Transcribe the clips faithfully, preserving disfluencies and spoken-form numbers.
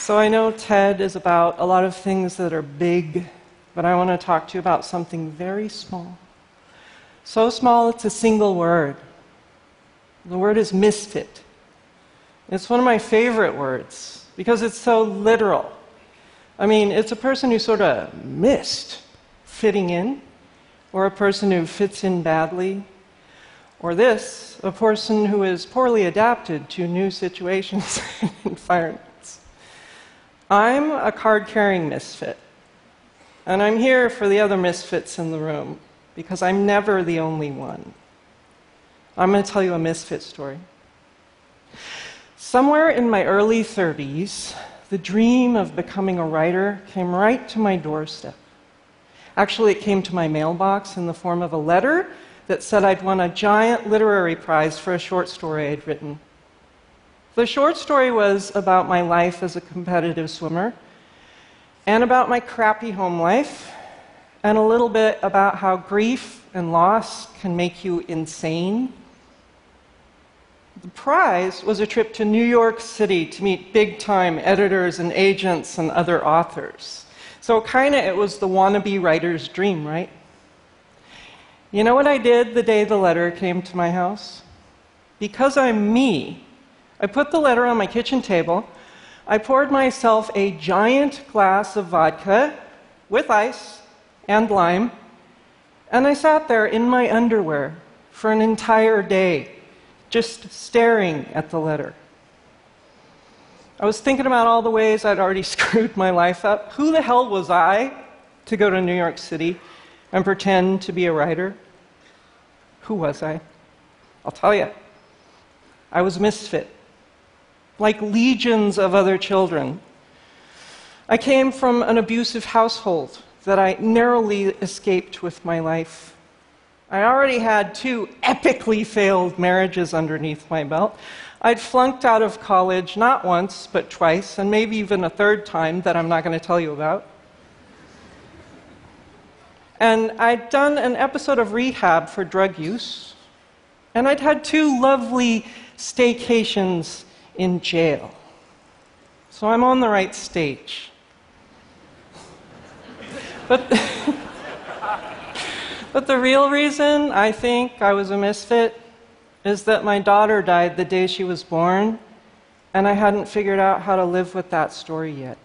So I know TED is about a lot of things that are big, but I want to talk to you about something very small. So small it's a single word. The word is misfit. It's one of my favorite words because it's so literal. I mean, it's a person who sort of missed fitting in, or a person who fits in badly, or this, a person who is poorly adapted to new situations and environments. I'm a card-carrying misfit, and I'm here for the other misfits in the room, because I'm never the only one. I'm going to tell you a misfit story. Somewhere in my early thirties, the dream of becoming a writer came right to my doorstep. Actually, it came to my mailbox in the form of a letter that said I'd won a giant literary prize for a short story I'd written. The short story was about my life as a competitive swimmer, and about my crappy home life, and a little bit about how grief and loss can make you insane. The prize was a trip to New York City to meet big-time editors and agents and other authors. So kind of it was the wannabe writer's dream, right? You know what I did the day the letter came to my house? Because I'm me, I put the letter on my kitchen table, I poured myself a giant glass of vodka with ice and lime, and I sat there in my underwear for an entire day, just staring at the letter. I was thinking about all the ways I'd already screwed my life up. Who the hell was I to go to New York City and pretend to be a writer? Who was I? I'll tell you. I was a misfit, like legions of other children. I came from an abusive household that I narrowly escaped with my life. I already had two epically failed marriages underneath my belt. I'd flunked out of college not once, but twice, and maybe even a third time that I'm not going to tell you about. And I'd done an episode of rehab for drug use, and I'd had two lovely staycations in jail. So I'm on the right stage. But, but the real reason I think I was a misfit is that my daughter died the day she was born, and I hadn't figured out how to live with that story yet.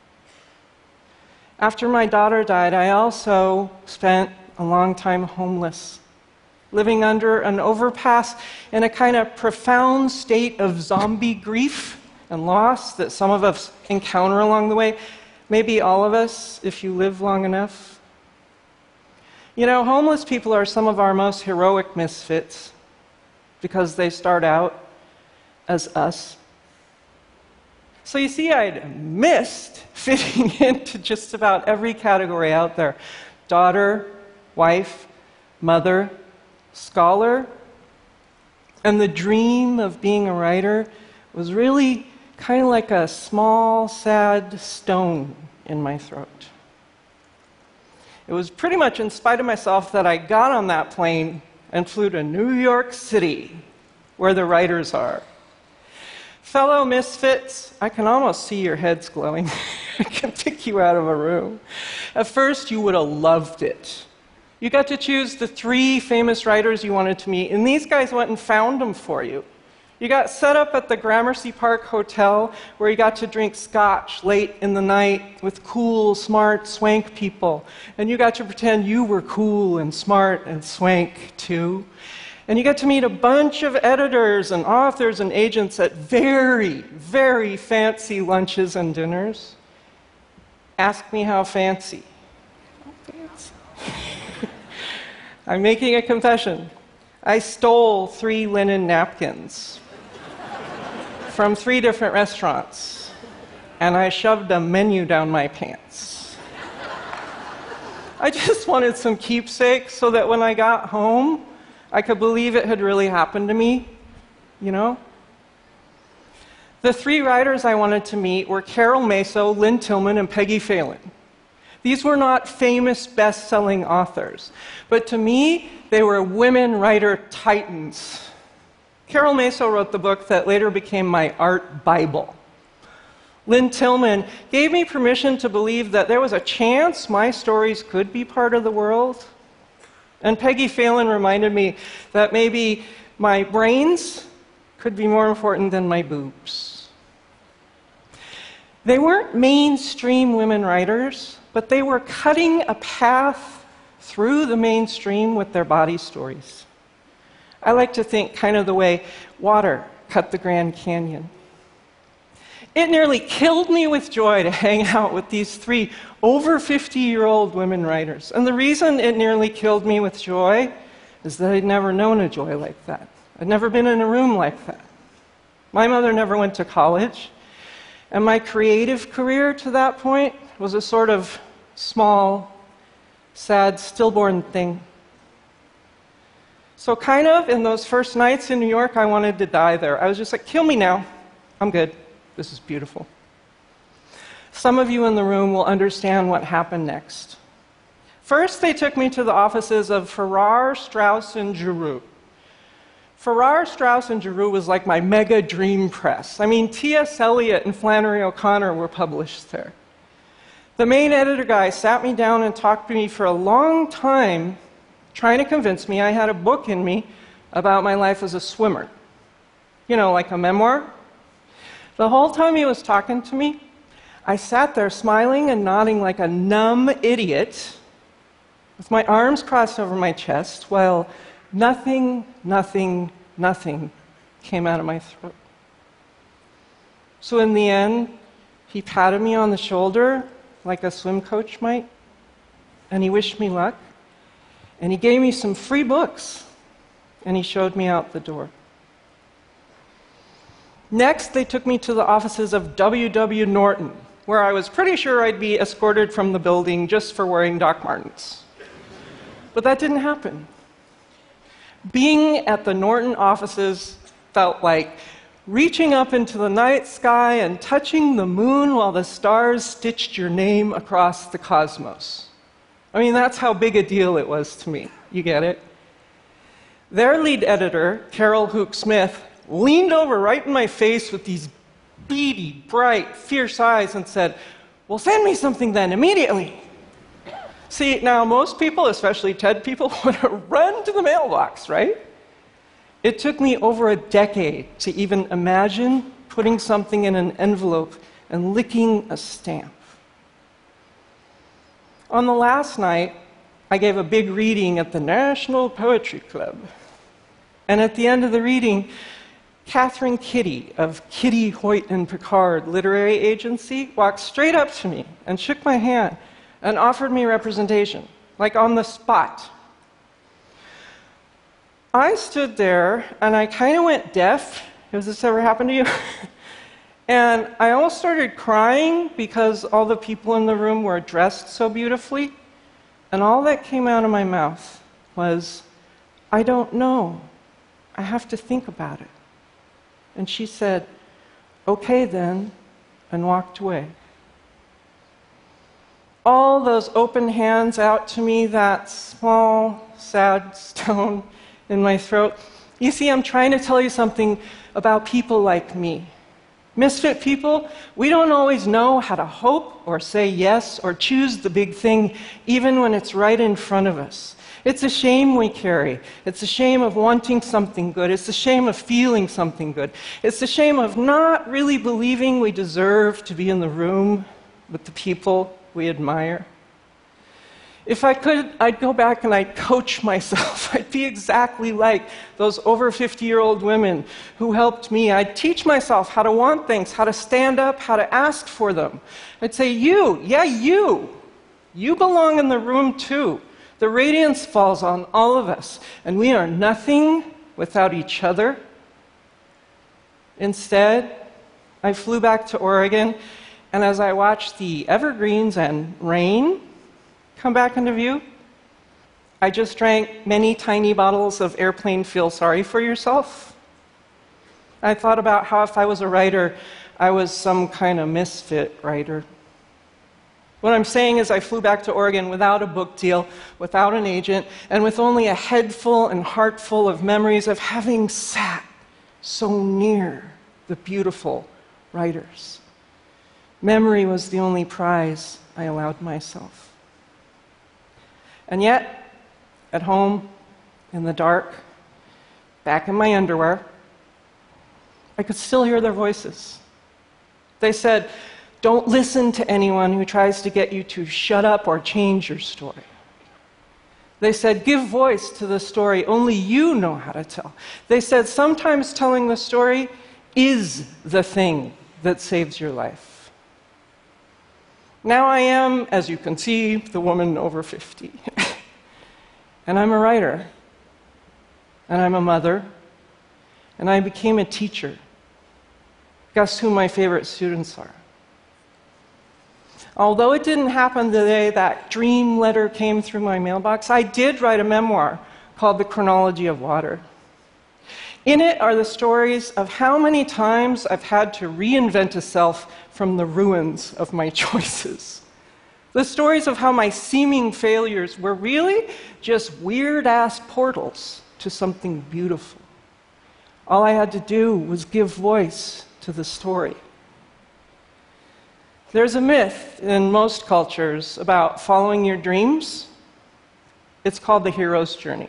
After my daughter died, I also spent a long time homeless, living under an overpass in a kind of profound state of zombie grief and loss that some of us encounter along the way. Maybe all of us, if you live long enough. You know, homeless people are some of our most heroic misfits because they start out as us. So you see, I'd missed fitting into just about every category out there. Daughter, wife, mother, scholar. And the dream of being a writer was really kind of like a small, sad stone in my throat. It was pretty much in spite of myself that I got on that plane and flew to New York City, where the writers are. Fellow misfits, I can almost see your heads glowing. I can pick you out of a room. At first, you would have loved it. You got to choose the three famous writers you wanted to meet, and these guys went and found them for you. You got set up at the Gramercy Park Hotel, where you got to drink scotch late in the night with cool, smart, swank people. And you got to pretend you were cool and smart and swank, too. And you got to meet a bunch of editors and authors and agents at very, very fancy lunches and dinners. Ask me how fancy. How fancy. I'm making a confession. I stole three linen napkins from three different restaurants, and I shoved a menu down my pants. I just wanted some keepsakes so that when I got home, I could believe it had really happened to me, you know? The three writers I wanted to meet were Carol Maso, Lynn Tillman, and Peggy Phelan. These were not famous best-selling authors, but to me, they were women writer titans. Carol Maso wrote the book that later became my art Bible. Lynn Tillman gave me permission to believe that there was a chance my stories could be part of the world. And Peggy Phelan reminded me that maybe my brains could be more important than my boobs. They weren't mainstream women writers, but they were cutting a path through the mainstream with their body stories. I like to think kind of the way water cut the Grand Canyon. It nearly killed me with joy to hang out with these three over fifty-year-old women writers. And the reason it nearly killed me with joy is that I'd never known a joy like that. I'd never been in a room like that. My mother never went to college, and my creative career to that point was a sort of small, sad, stillborn thing. So kind of in those first nights in New York, I wanted to die there. I was just like, kill me now. I'm good. This is beautiful. Some of you in the room will understand what happened next. First, they took me to the offices of Farrar, Straus, and Giroux. Farrar, Straus, and Giroux was like my mega dream press. I mean, T S Eliot and Flannery O'Connor were published there. The main editor guy sat me down and talked to me for a long time, trying to convince me I had a book in me about my life as a swimmer. You know, like a memoir. The whole time he was talking to me, I sat there smiling and nodding like a numb idiot, with my arms crossed over my chest, while nothing, nothing, nothing came out of my throat. So in the end, he patted me on the shoulder like a swim coach might, and he wished me luck, and he gave me some free books, and he showed me out the door. Next, they took me to the offices of W W Norton, where I was pretty sure I'd be escorted from the building just for wearing Doc Martens. But that didn't happen. Being at the Norton offices felt like reaching up into the night sky and touching the moon while the stars stitched your name across the cosmos. I mean, that's how big a deal it was to me. You get it? Their lead editor, Carol Hook Smith, leaned over right in my face with these beady, bright, fierce eyes and said, "Well, send me something then, immediately." See, now most people, especially TED people, would have run to the mailbox, right? It took me over a decade to even imagine putting something in an envelope and licking a stamp. On the last night, I gave a big reading at the National Poetry Club. And at the end of the reading, Catherine Kitty of Kitty, Hoyt and Picard Literary Agency walked straight up to me and shook my hand and offered me representation, like on the spot. I stood there and I kind of went deaf. Has this ever happened to you? And I almost started crying because all the people in the room were dressed so beautifully. And all that came out of my mouth was, "I don't know. I have to think about it." And she said, "Okay then," and walked away. All those open hands out to me, that small, sad stone in my throat. You see, I'm trying to tell you something about people like me. Misfit people, we don't always know how to hope or say yes or choose the big thing, even when it's right in front of us. It's a shame we carry. It's a shame of wanting something good. It's a shame of feeling something good. It's a shame of not really believing we deserve to be in the room with the people we admire. If I could, I'd go back and I'd coach myself. I'd be exactly like those over fifty-year-old women who helped me. I'd teach myself how to want things, how to stand up, how to ask for them. I'd say, you, yeah, you, you belong in the room too. The radiance falls on all of us, and we are nothing without each other. Instead, I flew back to Oregon, and as I watched the evergreens and rain come back into view, I just drank many tiny bottles of Airplane Feel Sorry for Yourself. I thought about how if I was a writer, I was some kind of misfit writer. What I'm saying is I flew back to Oregon without a book deal, without an agent, and with only a head full and heart full of memories of having sat so near the beautiful writers. Memory was the only prize I allowed myself. And yet, at home, in the dark, back in my underwear, I could still hear their voices. They said, "Don't listen to anyone who tries to get you to shut up or change your story." They said, "Give voice to the story only you know how to tell." They said, "Sometimes telling the story is the thing that saves your life." Now I am, as you can see, the woman over fifty. And I'm a writer. And I'm a mother. And I became a teacher. Guess who my favorite students are? Although it didn't happen the day that dream letter came through my mailbox, I did write a memoir called The Chronology of Water. In it are the stories of how many times I've had to reinvent a self from the ruins of my choices. The stories of how my seeming failures were really just weird-ass portals to something beautiful. All I had to do was give voice to the story. There's a myth in most cultures about following your dreams. It's called the hero's journey.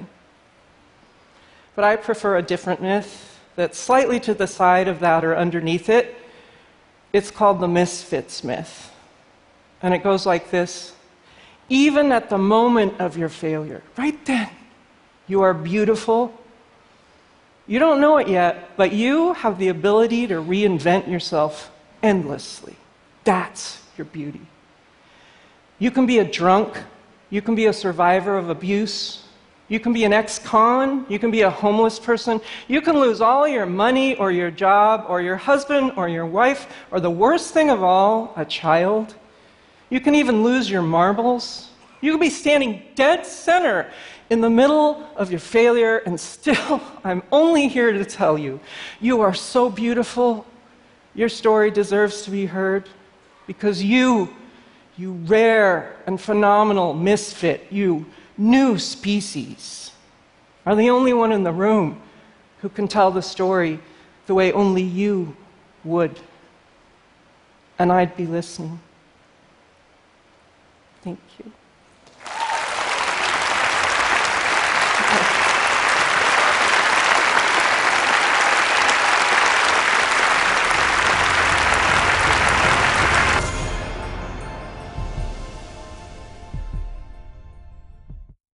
But I prefer a different myth that's slightly to the side of that or underneath it. It's called the misfits myth. And it goes like this: even at the moment of your failure, right then, you are beautiful. You don't know it yet, but you have the ability to reinvent yourself endlessly. That's your beauty. You can be a drunk. You can be a survivor of abuse. You can be an ex-con. You can be a homeless person. You can lose all your money or your job or your husband or your wife or, the worst thing of all, a child. You can even lose your marbles. You can be standing dead center in the middle of your failure, and still, I'm only here to tell you, you are so beautiful. Your story deserves to be heard because you, you rare and phenomenal misfit, you new species, are the only one in the room who can tell the story the way only you would. And I'd be listening. Thank you.